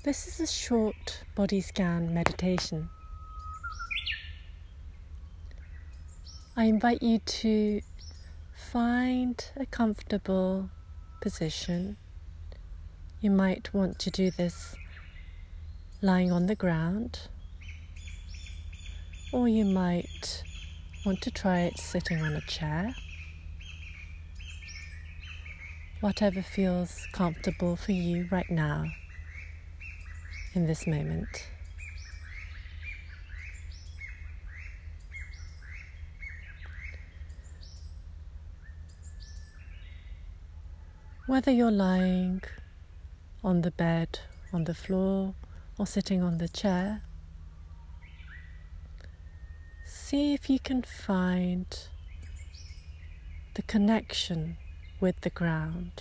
This is a short body scan meditation. I invite you to find a comfortable position. You might want to do this lying on the ground, or you might want to try it sitting on a chair. Whatever feels comfortable for you right now in this moment. Whether you're lying on the bed, on the floor, or sitting on the chair, see if you can find the connection with the ground.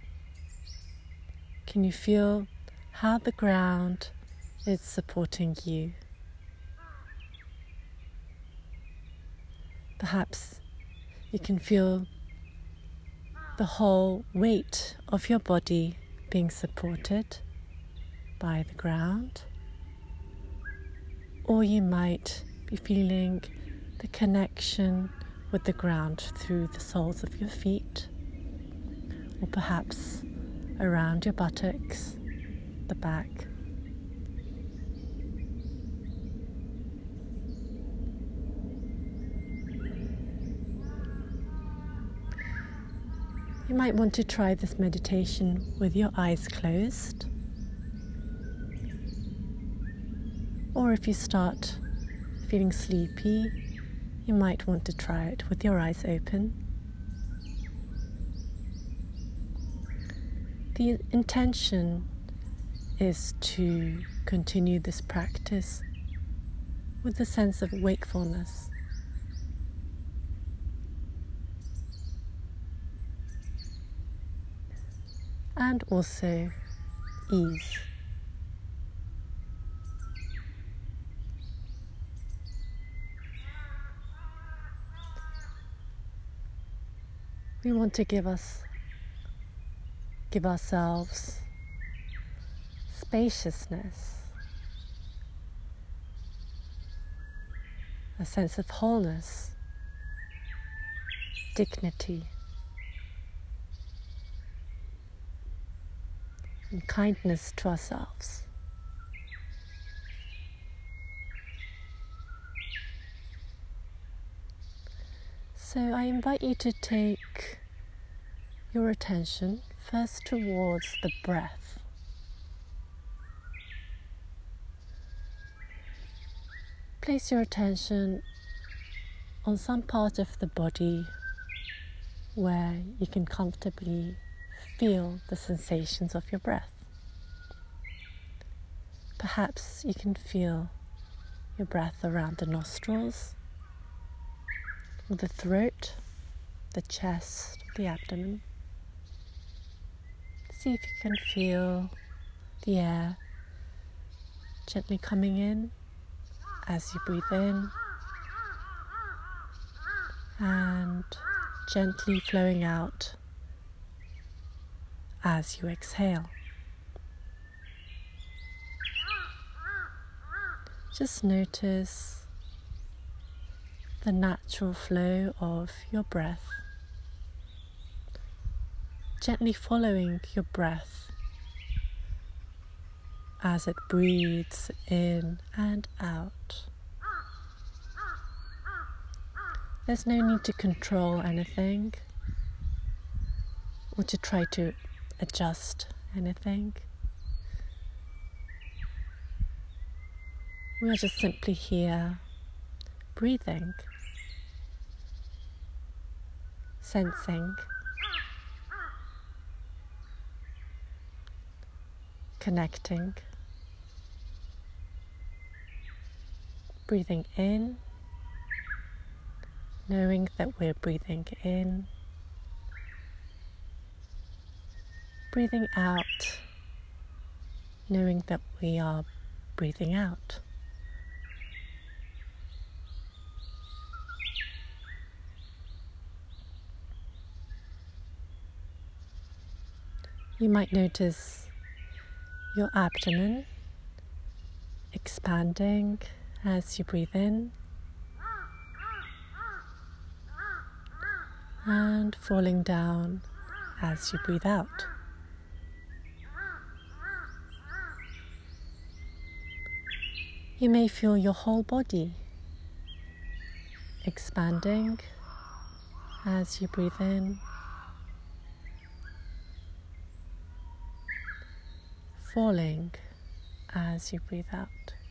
Can you feel how the ground is supporting you? Perhaps you can feel the whole weight of your body being supported by the ground, or you might be feeling the connection with the ground through the soles of your feet, or perhaps around your buttocks, the back. You might want to try this meditation with your eyes closed, or if you start feeling sleepy, you might want to try it with your eyes open. The intention is to continue this practice with a sense of wakefulness. And also ease. We want to give ourselves spaciousness, a sense of wholeness, dignity, and kindness to ourselves. So I invite you to take your attention first towards the breath. Place your attention on some part of the body where you can comfortably feel the sensations of your breath. Perhaps you can feel your breath around the nostrils, the throat, the chest, the abdomen. See if you can feel the air gently coming in as you breathe in and gently flowing out as you exhale. Just notice the natural flow of your breath, gently following your breath as it breathes in and out. There's no need to control anything or to try to adjust anything. We are just simply here, breathing, sensing, connecting, breathing in, knowing that we're breathing in, breathing out, knowing that we are breathing out. You might notice your abdomen expanding as you breathe in and falling down as you breathe out. You may feel your whole body expanding as you breathe in, falling as you breathe out.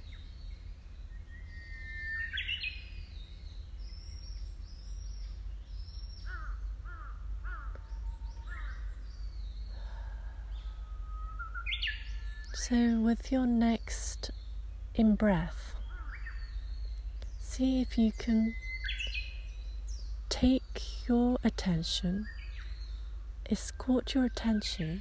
So with your next in-breath, see if you can take your attention, escort your attention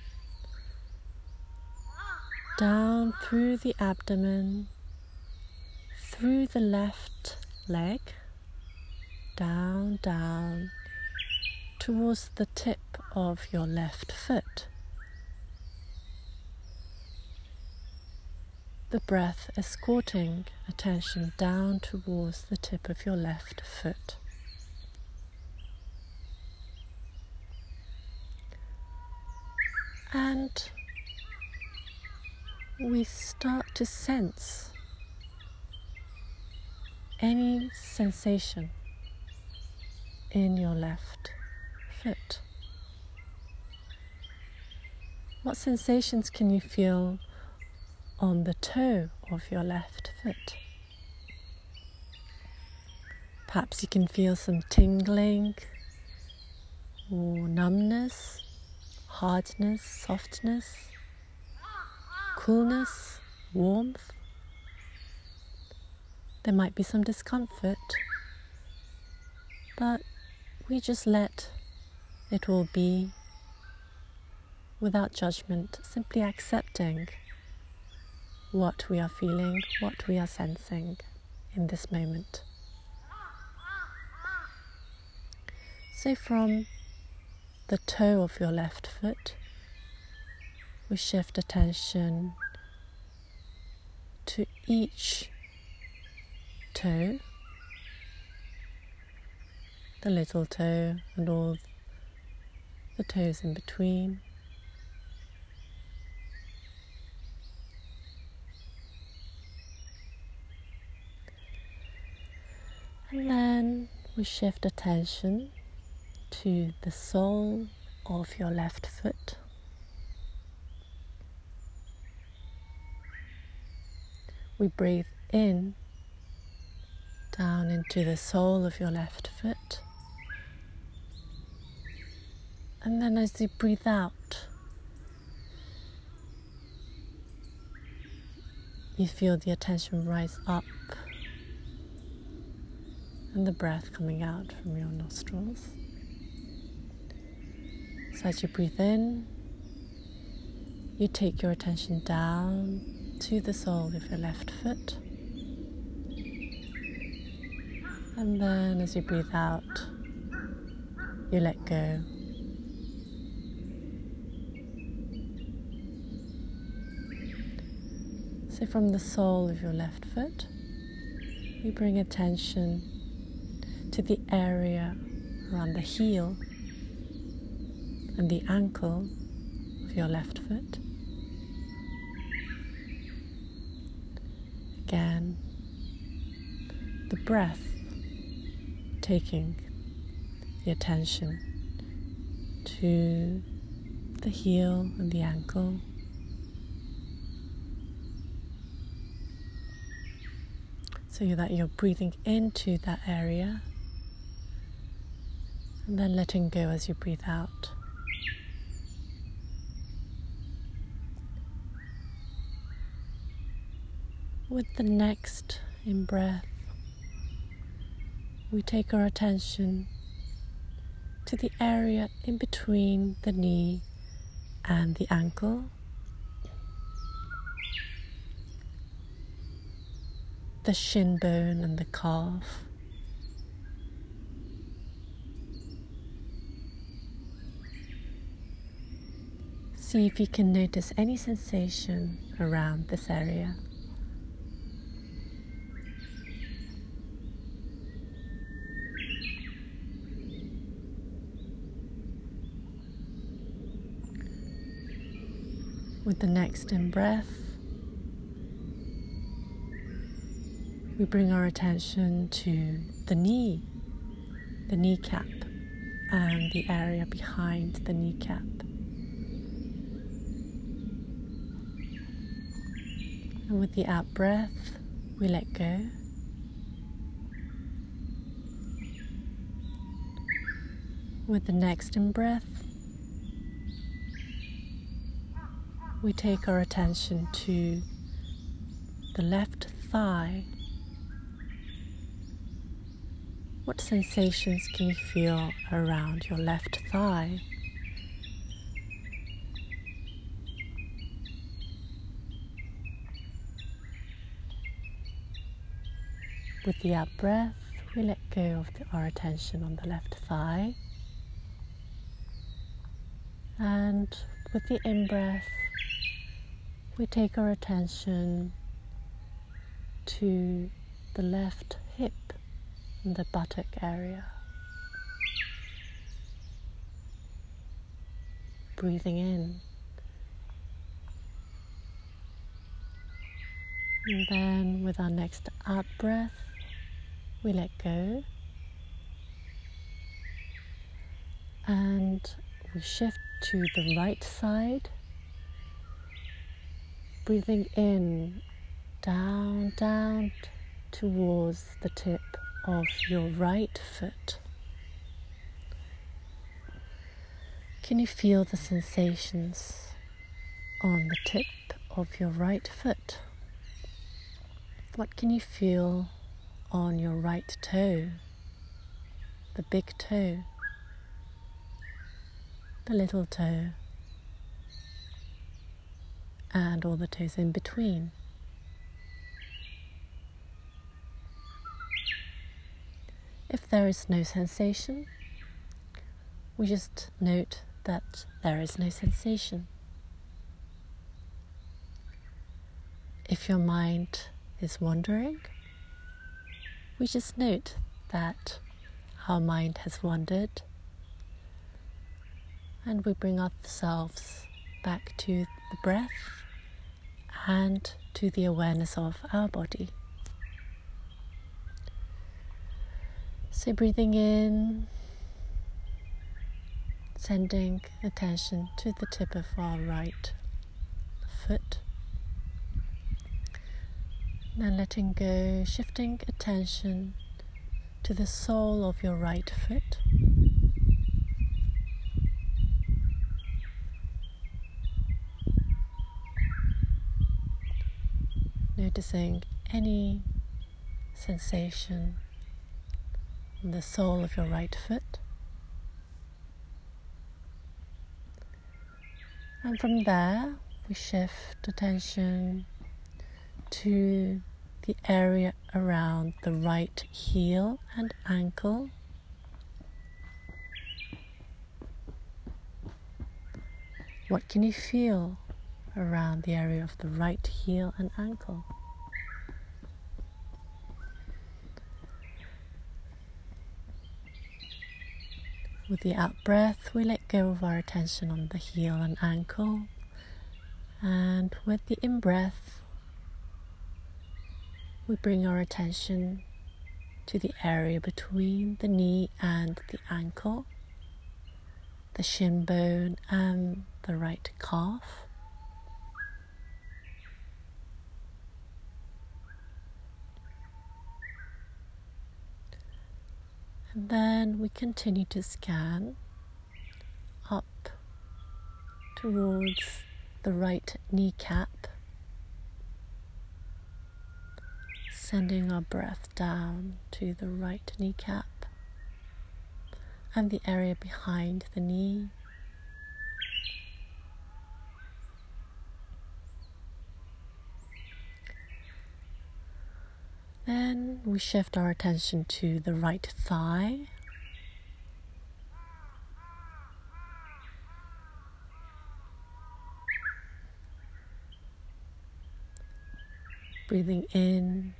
down through the abdomen, through the left leg, down towards the tip of your left foot. The breath escorting attention down towards the tip of your left foot. And we start to sense any sensation in your left foot. What sensations can you feel on the toe of your left foot? Perhaps you can feel some tingling or numbness, hardness, softness, coolness, warmth. There might be some discomfort, but we just let it all be without judgment, simply accepting what we are feeling, what we are sensing in this moment. So from the toe of your left foot, we shift attention to each toe, the little toe and all the toes in between. And then we shift attention to the sole of your left foot. We breathe in down into the sole of your left foot. And then as you breathe out, you feel the attention rise up and the breath coming out from your nostrils. So as you breathe in, you take your attention down to the sole of your left foot. And then as you breathe out, you let go. So from the sole of your left foot, you bring attention to the area around the heel and the ankle of your left foot. Again, the breath taking the attention to the heel and the ankle. So that you're breathing into that area and then letting go as you breathe out. With the next in-breath, we take our attention to the area in between the knee and the ankle. The shin bone and the calf. See if you can notice any sensation around this area. With the next in-breath, we bring our attention to the knee, the kneecap, and the area behind the kneecap. And with the out breath, we let go. With the next in-breath, we take our attention to the left thigh. What sensations can you feel around your left thigh? With the out breath, we let go of our attention on the left thigh. And with the in-breath, we take our attention to the left hip and the buttock area. Breathing in. And then with our next out breath, we let go. And we shift to the right side. Breathing in, down towards the tip of your right foot. Can you feel the sensations on the tip of your right foot? What can you feel on your right toe, the big toe, the little toe, and all the toes in between? If there is no sensation, we just note that there is no sensation. If your mind is wandering, we just note that our mind has wandered, and we bring ourselves back to the breath and to the awareness of our body. So breathing in, sending attention to the tip of our right foot. Then letting go, shifting attention to the sole of your right foot. Noticing any sensation on the sole of your right foot. And from there, we shift attention to the area around the right heel and ankle. What can you feel around the area of the right heel and ankle? With the out breath, we let go of our attention on the heel and ankle. And with the in-breath, we bring our attention to the area between the knee and the ankle, the shin bone and the right calf. And then we continue to scan up towards the right kneecap, sending our breath down to the right kneecap and the area behind the knee. Then we shift our attention to the right thigh. Breathing in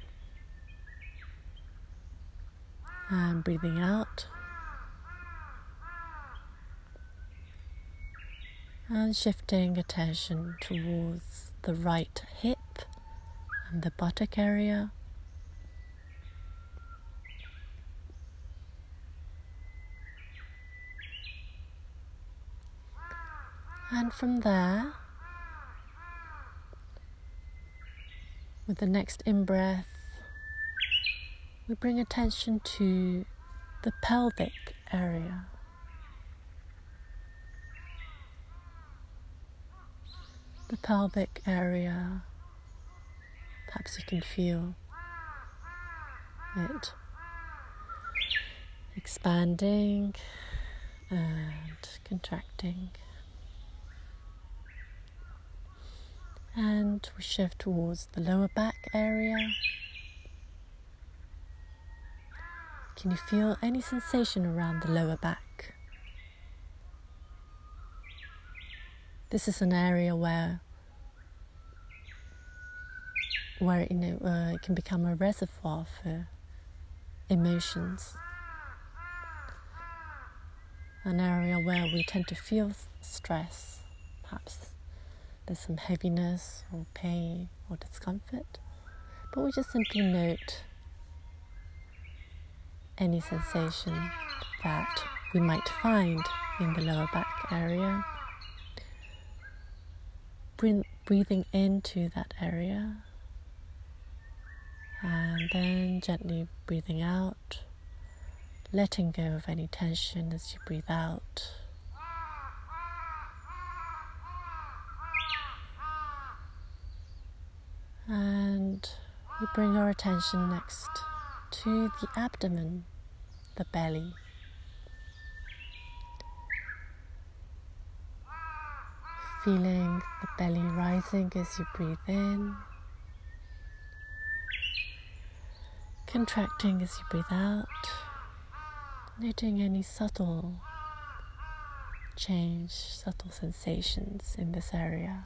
and breathing out. And shifting attention towards the right hip and the buttock area. And from there, with the next in-breath, we bring attention to the pelvic area. The pelvic area, perhaps you can feel it expanding and contracting. And we shift towards the lower back area. Can you feel any sensation around the lower back? This is an area where it can become a reservoir for emotions. An area where we tend to feel stress, perhaps there's some heaviness or pain or discomfort, but we just simply note any sensation that we might find in the lower back area. Breathing into that area and then gently breathing out, letting go of any tension as you breathe out. And we bring our attention next to the abdomen, the belly. Feeling the belly rising as you breathe in, contracting as you breathe out, noting any subtle change, subtle sensations in this area.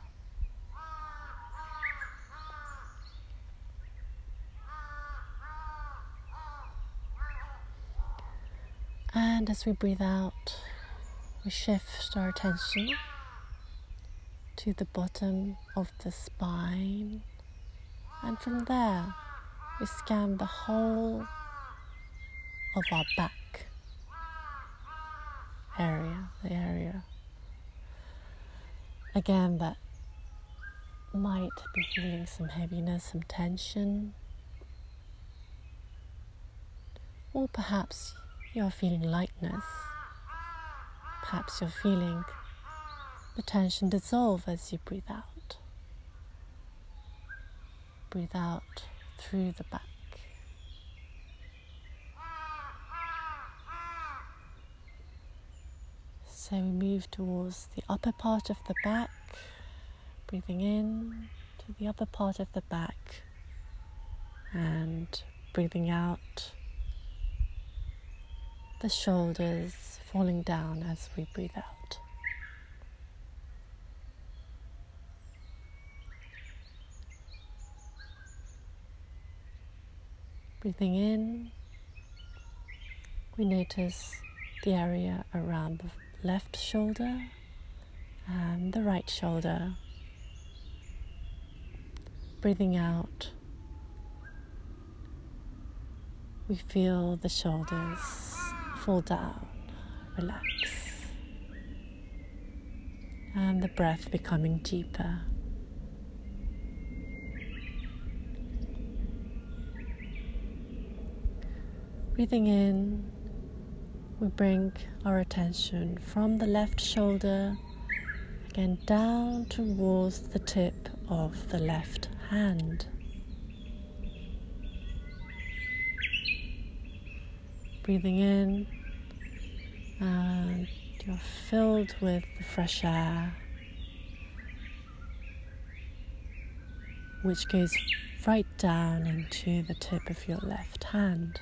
And as we breathe out, we shift our attention to the bottom of the spine, and from there we scan the whole of our back area, the area again that might be feeling some heaviness, some tension, or perhaps you're feeling lightness. Perhaps you're feeling the tension dissolve as you breathe out. Breathe out through the back. So we move towards the upper part of the back, breathing in to the upper part of the back and breathing out, the shoulders falling down as we breathe out. Breathing in, we notice the area around the left shoulder and the right shoulder. Breathing out, we feel the shoulders fall down, relax, and the breath becoming deeper. Breathing in, we bring our attention from the left shoulder again down towards the tip of the left hand. Breathing in, and you're filled with the fresh air, which goes right down into the tip of your left hand.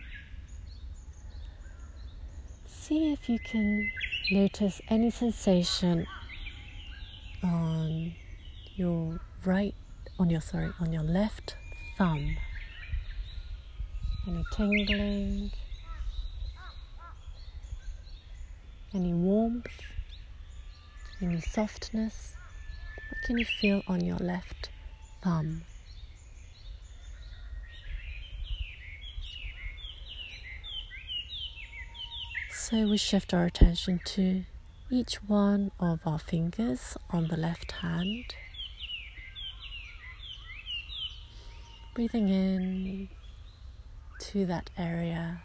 See if you can notice any sensation on your left thumb. Any tingling, any warmth, Any softness? What can you feel on your left thumb? So we shift our attention to each one of our fingers on the left hand. Breathing in to that area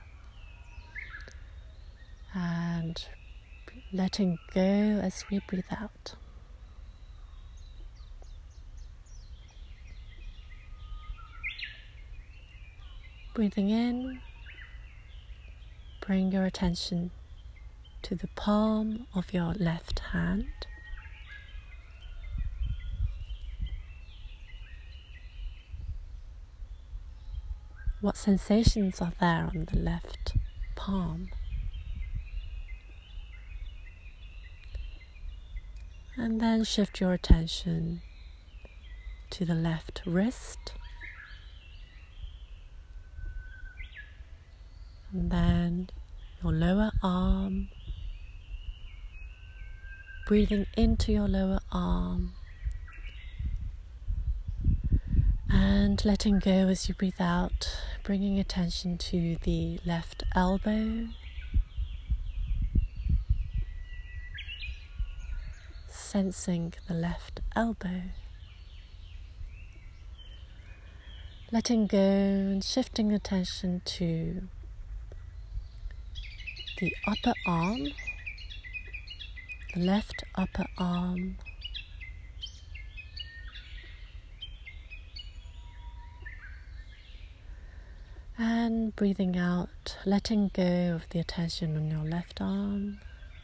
and letting go as we breathe out. Breathing in, bring your attention to the palm of your left hand. What sensations are there on the left palm? And then shift your attention to the left wrist. And then your lower arm. Breathing into your lower arm. And letting go as you breathe out, bringing attention to the left elbow. Sensing the left elbow. Letting go and shifting attention to the upper arm, the left upper arm. And breathing out, letting go of the attention on your left arm.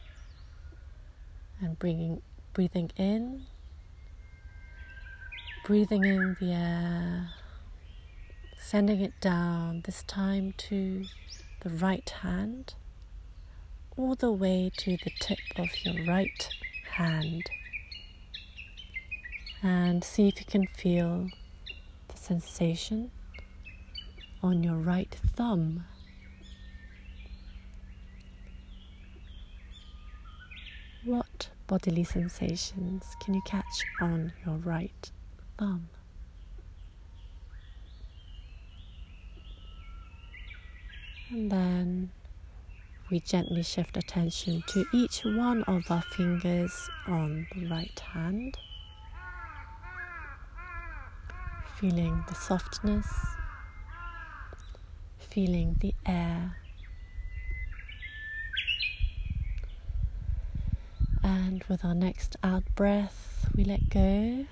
And breathing in. Breathing in the air. Sending it down, this time to the right hand. All the way to the tip of your right hand. And see if you can feel the sensation on your right thumb. What bodily sensations can you catch on your right thumb? And then we gently shift attention to each one of our fingers on the right hand. Feeling the softness, feeling the air. And with our next out breath, we let go.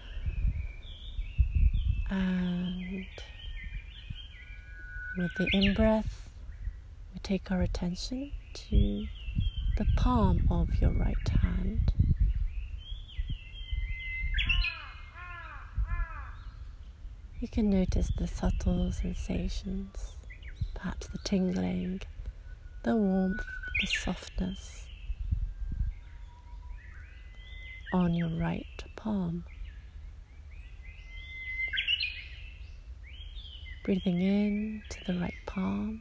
And with the in-breath, we take our attention to the palm of your right hand. You can notice the subtle sensations, perhaps the tingling, the warmth, the softness on your right palm. Breathing in to the right palm.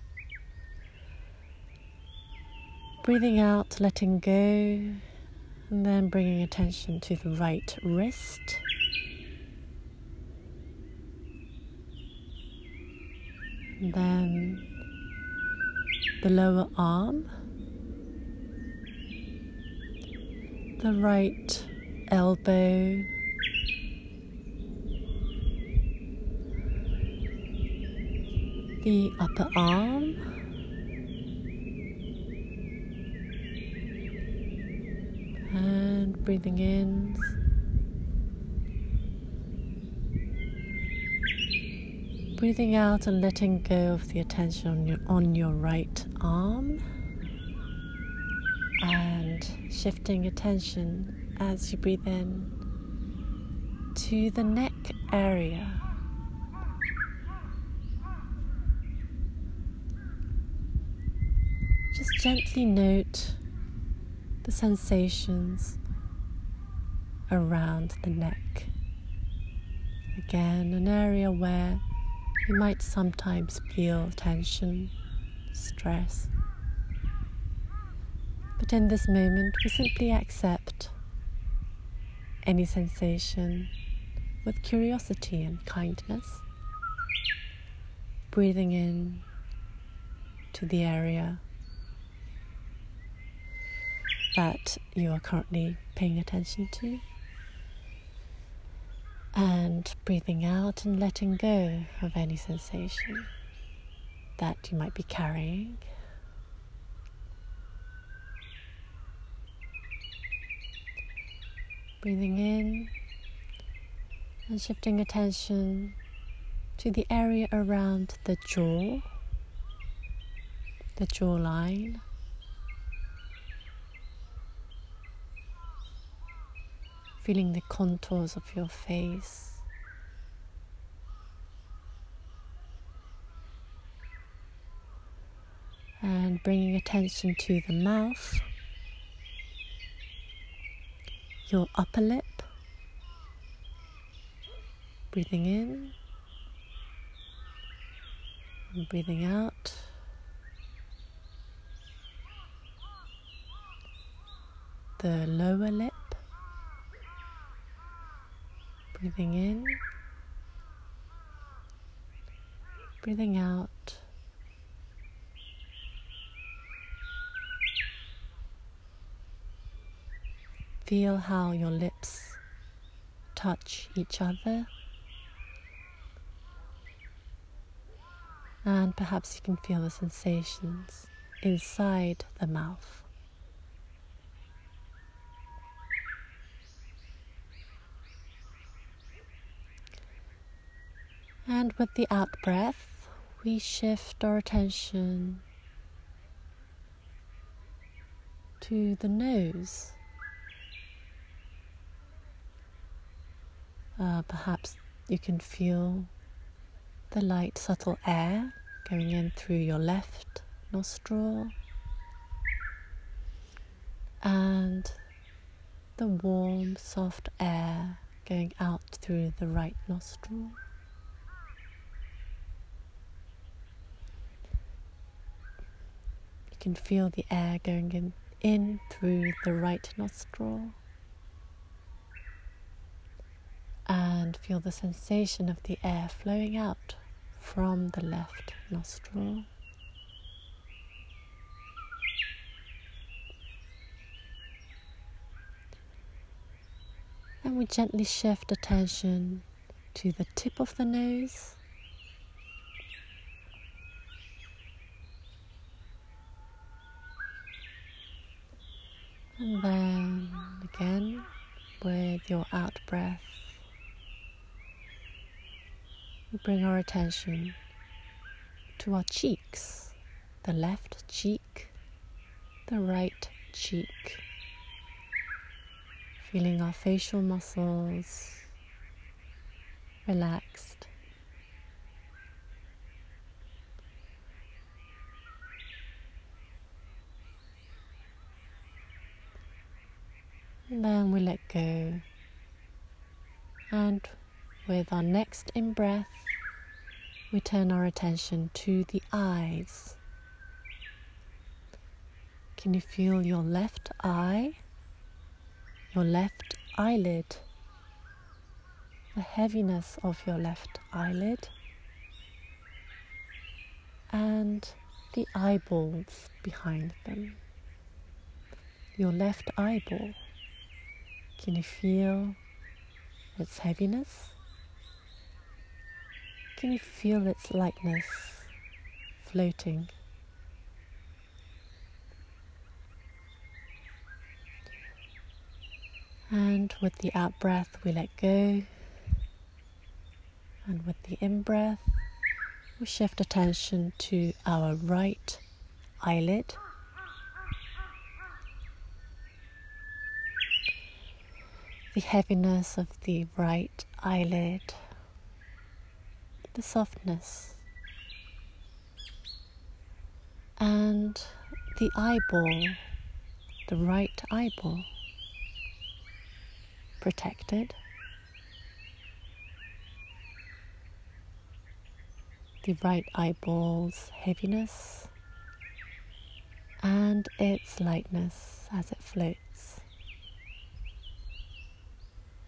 Breathing out, letting go, and then bringing attention to the right wrist. And then the lower arm. The right elbow. The upper arm. And breathing in. Breathing out and letting go of the attention on your right arm. And shifting attention as you breathe in to the neck area. Just gently note the sensations around the neck. Again, an area where you might sometimes feel tension, stress. But in this moment, we simply accept any sensation with curiosity and kindness. Breathing in to the area that you are currently paying attention to, and breathing out and letting go of any sensation that you might be carrying. Breathing in and shifting attention to the area around the jaw, the jawline, feeling the contours of your face, and bringing attention to the mouth, your upper lip. Breathing in and breathing out. The lower lip. Breathing in, breathing out. Feel how your lips touch each other. And perhaps you can feel the sensations inside the mouth. And with the out breath, we shift our attention to the nose. Perhaps you can feel the light, subtle air going in through your left nostril and the warm, soft air going out through the right nostril. You can feel the air going in through the right nostril, and feel the sensation of the air flowing out from the left nostril. And we gently shift attention to the tip of the nose, and then again with your out breath, we bring our attention to our cheeks, the left cheek, the right cheek, feeling our facial muscles relaxed. And then we let go, and with our next in-breath, we turn our attention to the eyes. Can you feel your left eye, your left eyelid, the heaviness of your left eyelid, and the eyeballs behind them? Your left eyeball. Can you feel its heaviness? Can you feel its lightness floating? And with the out breath, we let go. And with the in breath, we shift attention to our right eyelid. The heaviness of the right eyelid, the softness, and the eyeball, the right eyeball, protected. The right eyeball's heaviness and its lightness as it floats.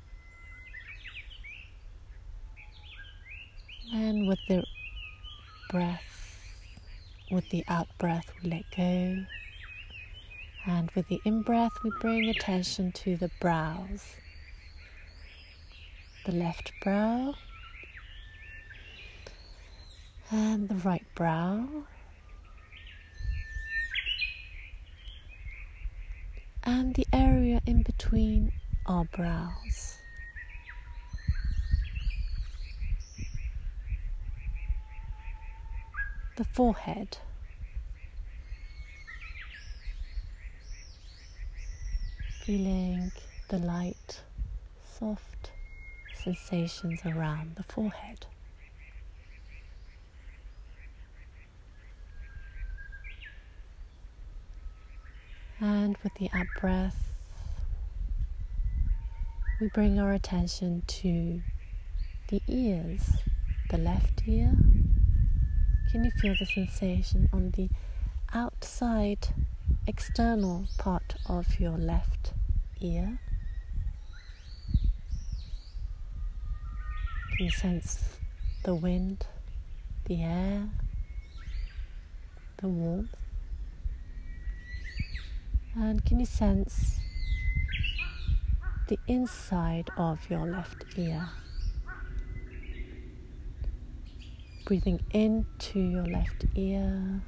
And with the breath, with the out breath, we let go. And with the in-breath, we bring attention to the brows. The left brow and the right brow. And the area in between our brows. The forehead. Feeling the light, soft sensations around the forehead. And with the out breath, we bring our attention to the ears, the left ear. Can you feel the sensation on the outside, external part of your left ear? Can you sense the wind, the air, the warmth? And can you sense the inside of your left ear? Breathing into your left ear.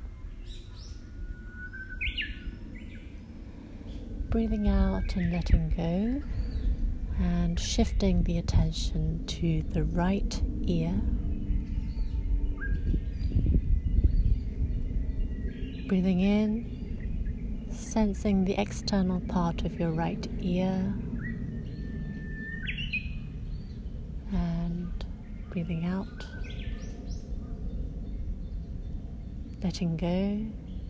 Breathing out and letting go. And shifting the attention to the right ear. Breathing in, sensing the external part of your right ear. And breathing out, letting go.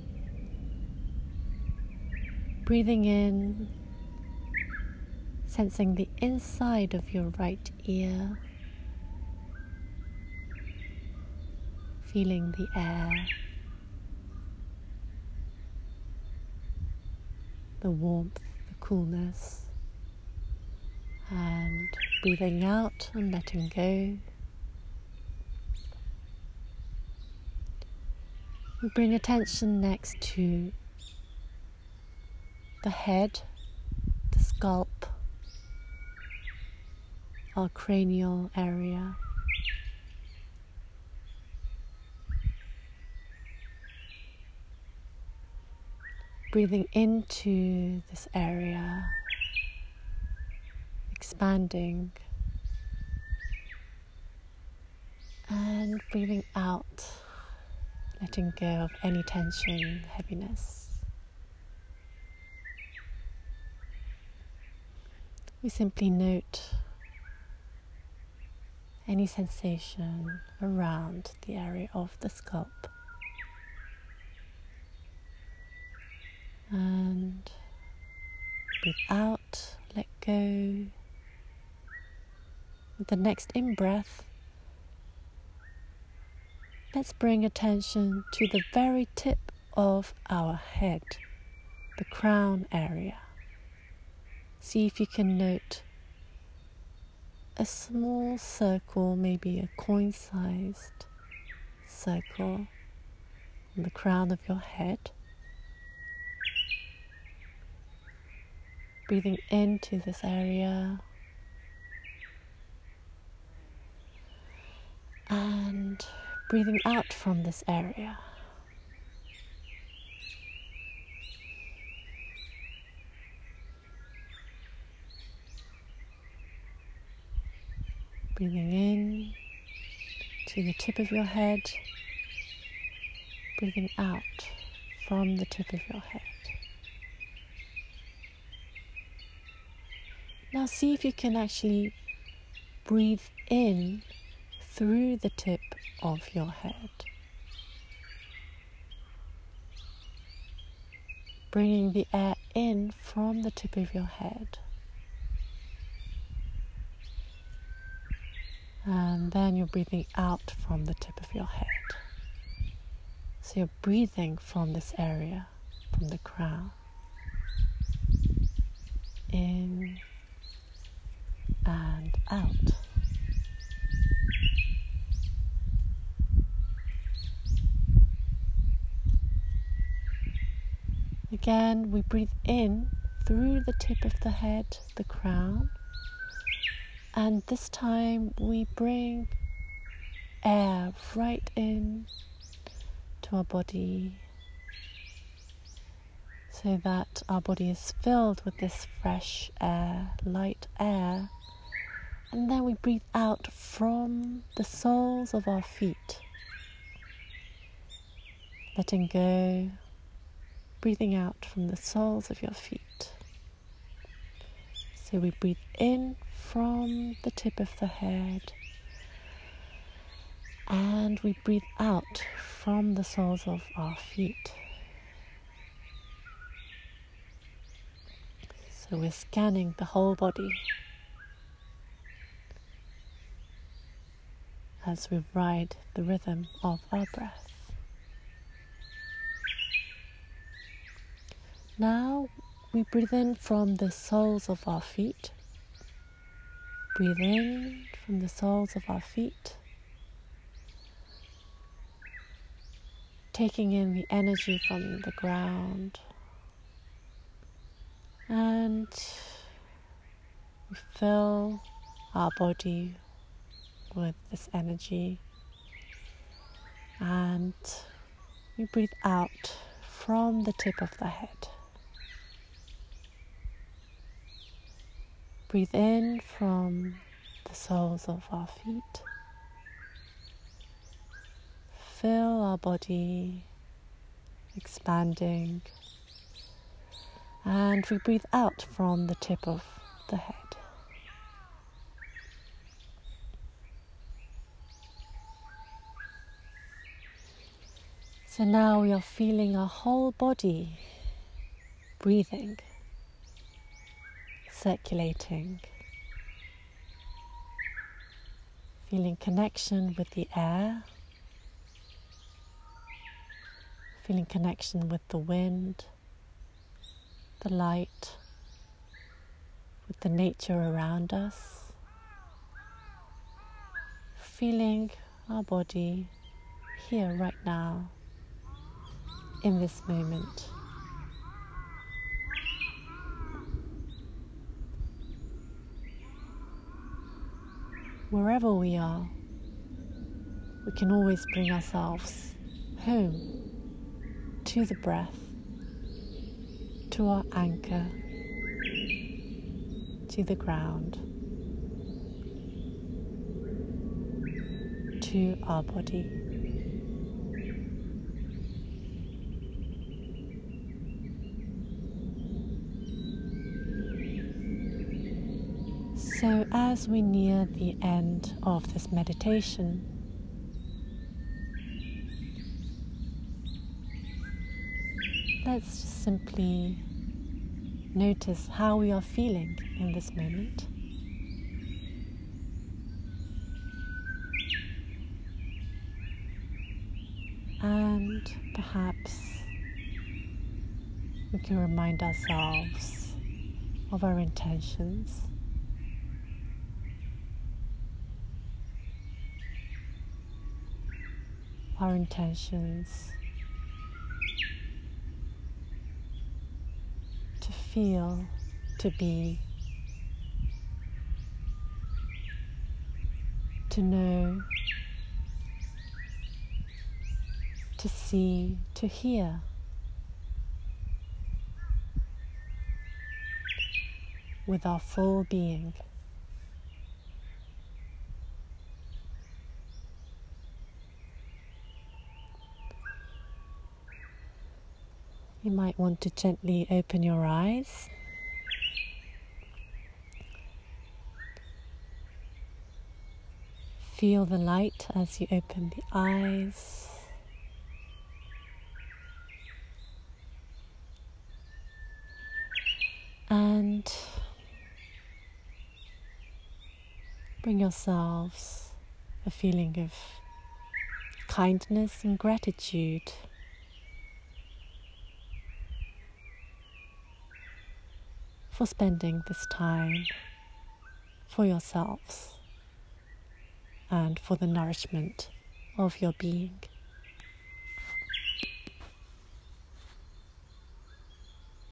Breathing in, sensing the inside of your right ear, feeling the air, the warmth, the coolness, and breathing out and letting go. We bring attention next to the head, the scalp, our cranial area. Breathing into this area, expanding, and breathing out, letting go of any tension, heaviness. We simply note any sensation around the area of the scalp. And breathe out, let go. With the next in-breath, let's bring attention to the very tip of our head, the crown area. See if you can note a small circle, maybe a coin-sized circle on the crown of your head. Breathing into this area and breathing out from this area. Breathing in to the tip of your head, breathing out from the tip of your head. Now see if you can actually breathe in through the tip of your head. Bringing the air in from the tip of your head. And then you're breathing out from the tip of your head. So you're breathing from this area, from the crown. In and out. again, we breathe in through the tip of the head, the crown. And this time we bring air right in to our body, so that our body is filled with this fresh air, light air. And then we breathe out from the soles of our feet, letting go, breathing out from the soles of your feet. So we breathe in from the tip of the head, and we breathe out from the soles of our feet. So we're scanning the whole body as we ride the rhythm of our breath. Now we breathe in from the soles of our feet. Breathe in from the soles of our feet, taking in the energy from the ground, and we fill our body with this energy, and we breathe out from the tip of the head. Breathe in from the soles of our feet. Fill our body, expanding, and we breathe out from the tip of the head. So now we are feeling our whole body breathing, circulating, feeling connection with the air, feeling connection with the wind, the light, with the nature around us, feeling our body here right now, in this moment. Wherever we are, we can always bring ourselves home to the breath, to our anchor, to the ground, to our body. So as we near the end of this meditation, let's just simply notice how we are feeling in this moment. And perhaps we can remind ourselves of our intentions. Our intentions to feel, to be, to know, to see, to hear, with our full being. You might want to gently open your eyes. Feel the light as you open the eyes. And bring yourselves a feeling of kindness and gratitude for spending this time for yourselves and for the nourishment of your being.